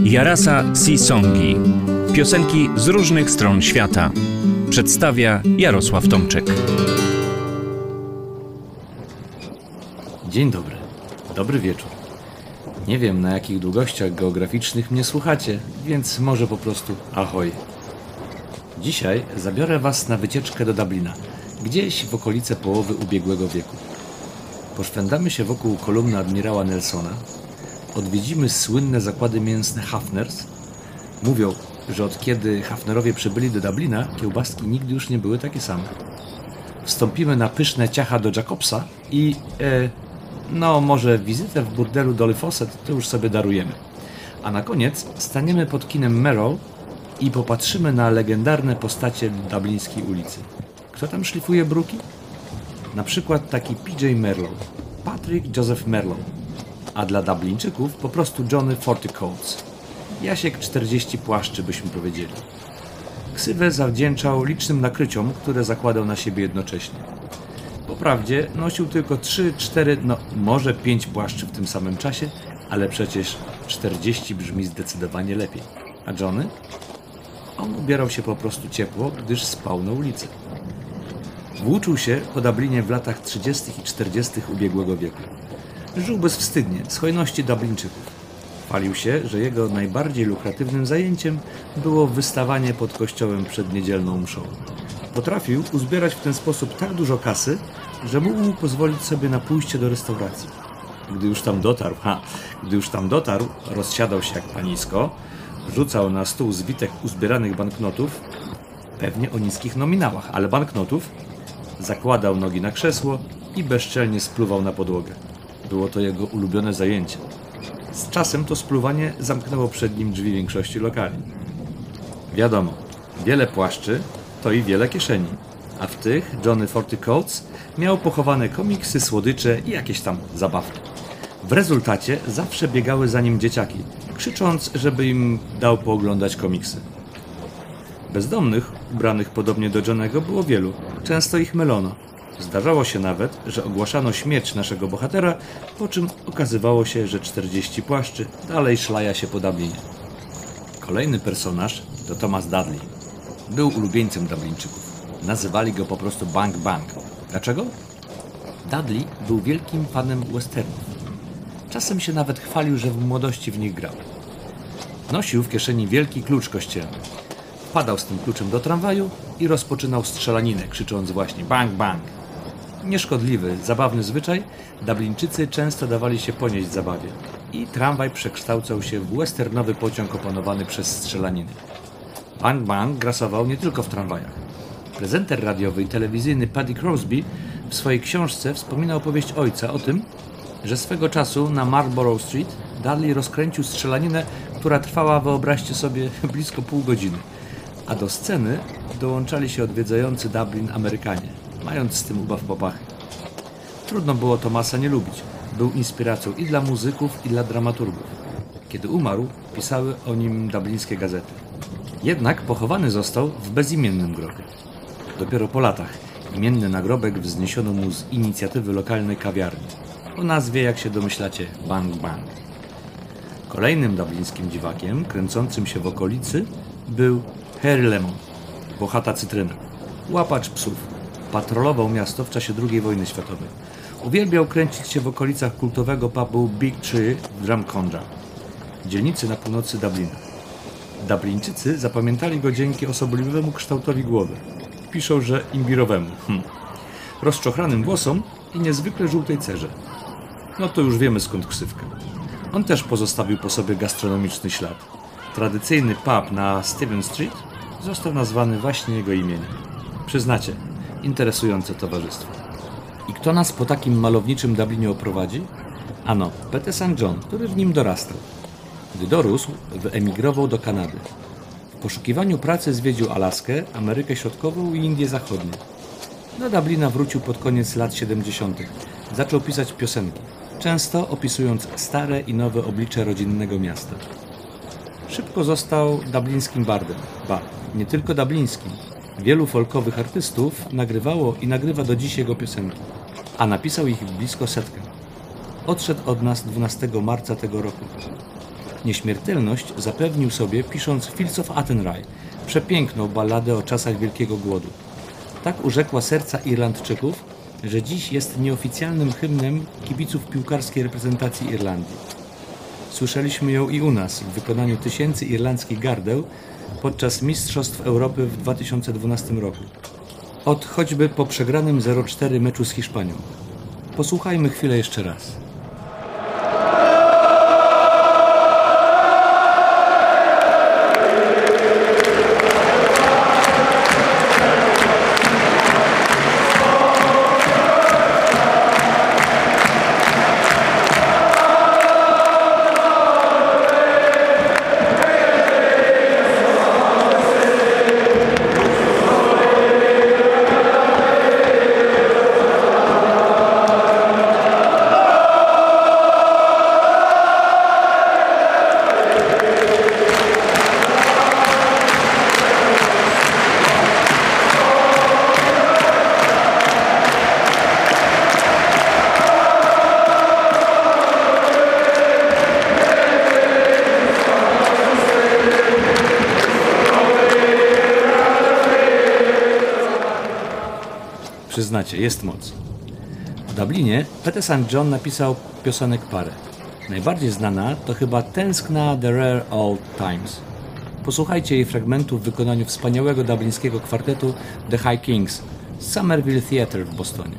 Jarasa Sisongi. Piosenki z różnych stron świata. Przedstawia Jarosław Tomczyk. Dzień dobry. Dobry wieczór. Nie wiem, na jakich długościach geograficznych mnie słuchacie, więc może po prostu ahoj. Dzisiaj zabiorę Was na wycieczkę do Dublina, gdzieś w okolice połowy ubiegłego wieku. Poszwędzamy się wokół kolumny admirała Nelsona, odwiedzimy słynne zakłady mięsne Hafners. Mówią, że od kiedy Hafnerowie przybyli do Dublina, kiełbaski nigdy już nie były takie same. Wstąpimy na pyszne ciacha do Jacobsa i może wizytę w burdelu Dolly Fawcett to już sobie darujemy. A na koniec staniemy pod kinem Merrow i popatrzymy na legendarne postacie dublińskiej ulicy. Kto tam szlifuje bruki? Na przykład taki PJ Merlow, Patrick Joseph Merlow, a dla Dublińczyków po prostu Johnny 40 Coats. Jasiek 40 płaszczy, byśmy powiedzieli. Ksywę zawdzięczał licznym nakryciom, które zakładał na siebie jednocześnie. Poprawdzie nosił tylko 3, 4, może 5 płaszczy w tym samym czasie, ale przecież 40 brzmi zdecydowanie lepiej. A Johnny? On ubierał się po prostu ciepło, gdyż spał na ulicy. Włóczył się po Dublinie w latach 30. i 40. ubiegłego wieku. Żył bezwstydnie, z hojności Dublińczyków. Chwalił się, że jego najbardziej lukratywnym zajęciem było wystawanie pod kościołem przed niedzielną mszą. Potrafił uzbierać w ten sposób tak dużo kasy, że mógł pozwolić sobie na pójście do restauracji. Gdy już tam dotarł, rozsiadał się jak panisko, rzucał na stół zwitek uzbieranych banknotów, pewnie o niskich nominałach, ale banknotów, zakładał nogi na krzesło i bezczelnie spluwał na podłogę. Było to jego ulubione zajęcie. Z czasem to spluwanie zamknęło przed nim drzwi większości lokali. Wiadomo, wiele płaszczy to i wiele kieszeni, a w tych Johnny 40 Coats miał pochowane komiksy, słodycze i jakieś tam zabawki. W rezultacie zawsze biegały za nim dzieciaki, krzycząc, żeby im dał pooglądać komiksy. Bezdomnych, ubranych podobnie do Johnnego, było wielu. Często ich mylono. Zdarzało się nawet, że ogłaszano śmierć naszego bohatera, po czym okazywało się, że 40 płaszczy dalej szlaja się po Dublinie. Kolejny personaż to Thomas Dudley. Był ulubieńcem Dublińczyków. Nazywali go po prostu Bang Bang. Dlaczego? Dudley był wielkim fanem westernów. Czasem się nawet chwalił, że w młodości w nich grał. Nosił w kieszeni wielki klucz kościelny. Wpadał z tym kluczem do tramwaju i rozpoczynał strzelaninę, krzycząc właśnie bang bang. Nieszkodliwy, zabawny zwyczaj, Dublińczycy często dawali się ponieść zabawie i tramwaj przekształcał się w westernowy pociąg opanowany przez strzelaniny. Bang bang grasował nie tylko w tramwajach. Prezenter radiowy i telewizyjny Paddy Crosby w swojej książce wspomina opowieść ojca o tym, że swego czasu na Marlborough Street Dudley rozkręcił strzelaninę, która trwała, wyobraźcie sobie, blisko pół godziny. A do sceny dołączali się odwiedzający Dublin Amerykanie, mając z tym ubaw popachy. Trudno było Thomasa nie lubić. Był inspiracją i dla muzyków, i dla dramaturgów. Kiedy umarł, pisały o nim dublińskie gazety. Jednak pochowany został w bezimiennym grobie. Dopiero po latach imienny nagrobek wzniesiono mu z inicjatywy lokalnej kawiarni. O nazwie, jak się domyślacie, Bang Bang. Kolejnym dublińskim dziwakiem, kręcącym się w okolicy, był Harry Lemon, włochata cytryna, łapacz psów. Patrolował miasto w czasie II wojny światowej. Uwielbiał kręcić się w okolicach kultowego pubu Big Tree w Drumcondra, dzielnicy na północy Dublina. Dublińczycy zapamiętali go dzięki osobliwemu kształtowi głowy. Piszą, że imbirowemu. Rozczochranym włosom i niezwykle żółtej cerze. No to już wiemy, skąd ksywka. On też pozostawił po sobie gastronomiczny ślad. Tradycyjny pub na Stephen Street został nazwany właśnie jego imieniem. Przyznacie, interesujące towarzystwo. I kto nas po takim malowniczym Dublinie oprowadzi? Ano, Peter St. John, który w nim dorastał. Gdy dorósł, wyemigrował do Kanady. W poszukiwaniu pracy zwiedził Alaskę, Amerykę Środkową i Indie Zachodnie. Do Dublina wrócił pod koniec lat 70. Zaczął pisać piosenki, często opisując stare i nowe oblicze rodzinnego miasta. Szybko został dublińskim bardem. Nie tylko dublińskim. Wielu folkowych artystów nagrywało i nagrywa do dziś jego piosenki, a napisał ich blisko 100. Odszedł od nas 12 marca tego roku. Nieśmiertelność zapewnił sobie, pisząc Fields of Athenry, przepiękną balladę o czasach Wielkiego Głodu. Tak urzekła serca Irlandczyków, że dziś jest nieoficjalnym hymnem kibiców piłkarskiej reprezentacji Irlandii. Słyszeliśmy ją i u nas w wykonaniu tysięcy irlandzkich gardeł podczas Mistrzostw Europy w 2012 roku. Od choćby po przegranym 0-4 meczu z Hiszpanią. Posłuchajmy chwilę jeszcze raz. Przyznacie, jest moc. W Dublinie Pete St. John napisał piosenek parę. Najbardziej znana to chyba Tęskna The Rare Old Times. Posłuchajcie jej fragmentu w wykonaniu wspaniałego dublińskiego kwartetu The High Kings z Somerville Theatre w Bostonie.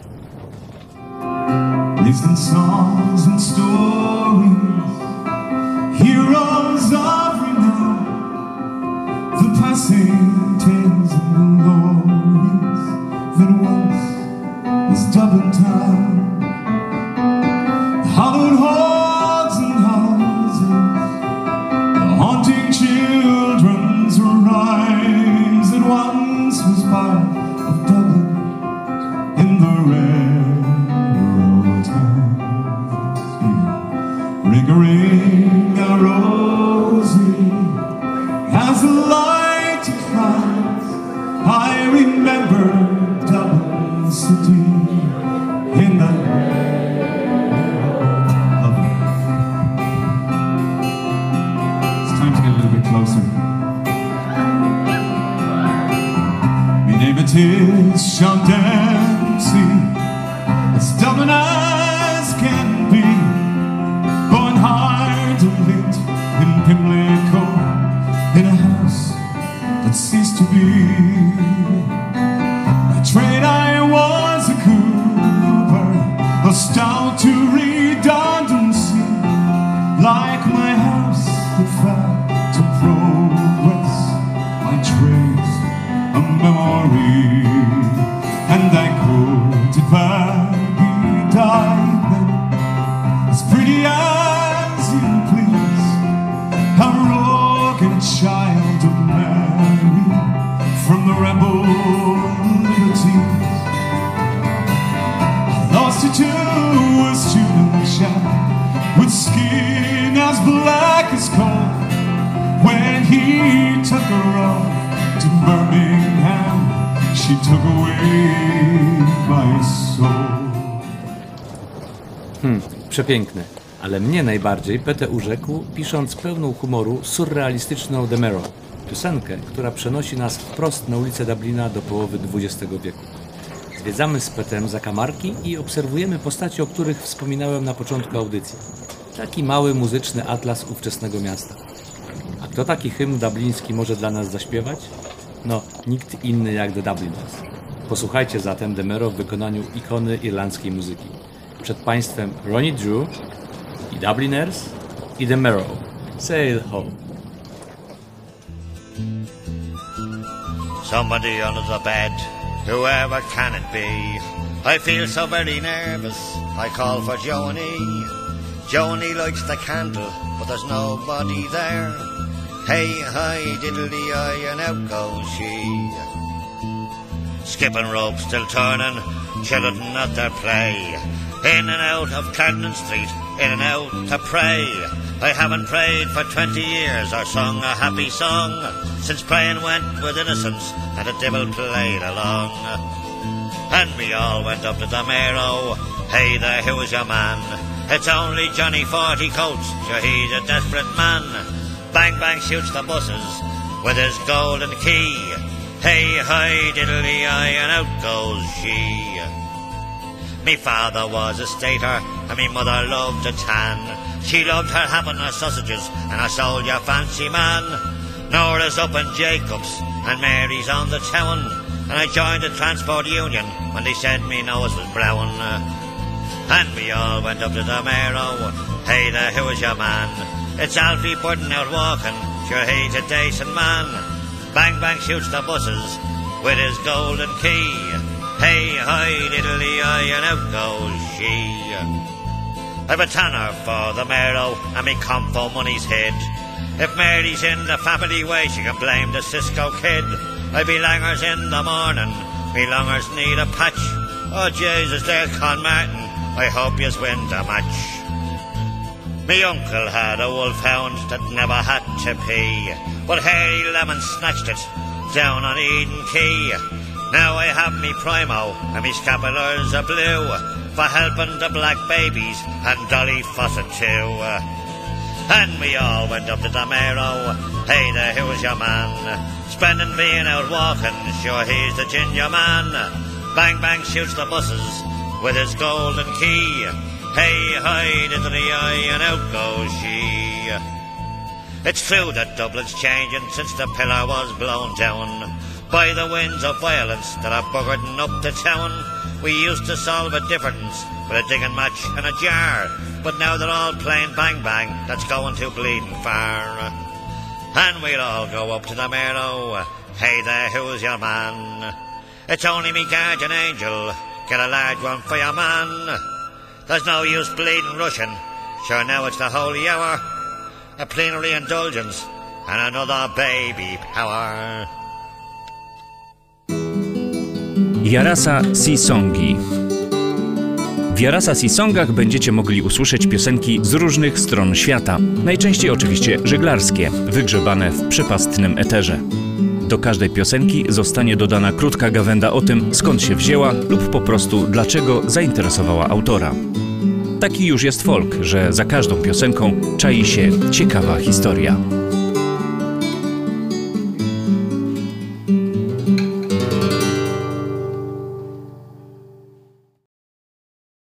Listen songs and stories, heroes of renown, the passing tales and the glories that once was Dublin town. The hallowed halls and houses, the haunting children's rhymes that once was part of Dublin in the rare times. Ring a rosy as the light declines. I remember Dublin city in the It's time to get a little bit closer. My name it is Sean Dempsey, as Dublin as can be, born hard and lit in Pimlico, in a house that ceased to be. By trade I was a cooper, a stout to redundancy, like my house that fell to progress, my trade's a memory, and I could if I be diamond, as pretty as you please, a rogue child of Mary, from the rebel liberties. I lost her to a student chap with skin as black as coal, when he took her off to Birmingham, she took away my soul. Przepiękne, ale mnie najbardziej Pete urzekł, pisząc pełną humoru surrealistyczną The Merrow, piosenkę, która przenosi nas wprost na ulicę Dublina do połowy XX wieku. Zwiedzamy z Petem zakamarki i obserwujemy postacie, o których wspominałem na początku audycji. Taki mały muzyczny atlas ówczesnego miasta. A kto taki hymn dubliński może dla nas zaśpiewać? No, nikt inny jak The Dubliners. Posłuchajcie zatem The Merrow w wykonaniu ikony irlandzkiej muzyki. Przed Państwem Ronnie Drew i Dubliners i The Merrow. Sail home. Somebody under the bed, whoever can it be? I feel so very nervous, I call for Joni. Joni lights the candle, but there's nobody there. Hey, hi, diddly-eye, and out goes she. Skipping rope, still turning, children at their play. In and out of Cardinal Street, in and out to pray. I haven't prayed for 20 years or sung a happy song, since praying went with innocence and the devil played along. And we all went up to the Merrow. Hey there, who is your man? It's only Johnny 40 Coats, sure he's a desperate man. Bang bang shoots the buses with his golden key. Hey hi diddly-eye and out goes she. Me father was a stater and me mother loved a tan. She loved her ham and her sausages and her soldier fancy man. Nora's up in Jacobs and Mary's on the town. And I joined the transport union when they said me nose was brown. And we all went up to the Mayo. Hey there, who is your man? It's Alfie Burton out walking, sure he's a decent man. Bang bang shoots the buses with his golden key. Hey hi diddly-eye and out goes she. I've a tanner for the Mayo and me comfo money's hid. If Mary's in the family way, she can blame the Cisco kid. I be langers in the morning, me longers need a patch. Oh Jesus, there's Con Martin, I hope yous win the match. Me uncle had a wolfhound that never had to pee, but Harry Lemon snatched it down on Eden Quay. Now I have me Primo and me scapulars are blue for helping the black babies and Dolly Fawcett too. And we all went up to the Mayo. Hey there, who is your man? Spending being out walking, sure he's the ginger man. Bang bang shoots the buses with his golden key. Hey hi diddly-eye and out goes she. It's true that Dublin's changing since the pillar was blown down by the winds of violence that are buggering up the town. We used to solve a difference with a digging match and a jar, but now they're all playing bang bang, that's going too bleeding far. And we'll all go up to the Mayo. Hey there, who's your man? It's only me guardian angel, get a large one for your man. There's no use bleeding Russian, sure now it's the holy hour. A plenary indulgence and another baby power. Jarasa Sisongi. W Jarasa Sisongach będziecie mogli usłyszeć piosenki z różnych stron świata. Najczęściej oczywiście żeglarskie, wygrzebane w przepastnym eterze. Do każdej piosenki zostanie dodana krótka gawęda o tym, skąd się wzięła lub po prostu dlaczego zainteresowała autora. Taki już jest folk, że za każdą piosenką czai się ciekawa historia.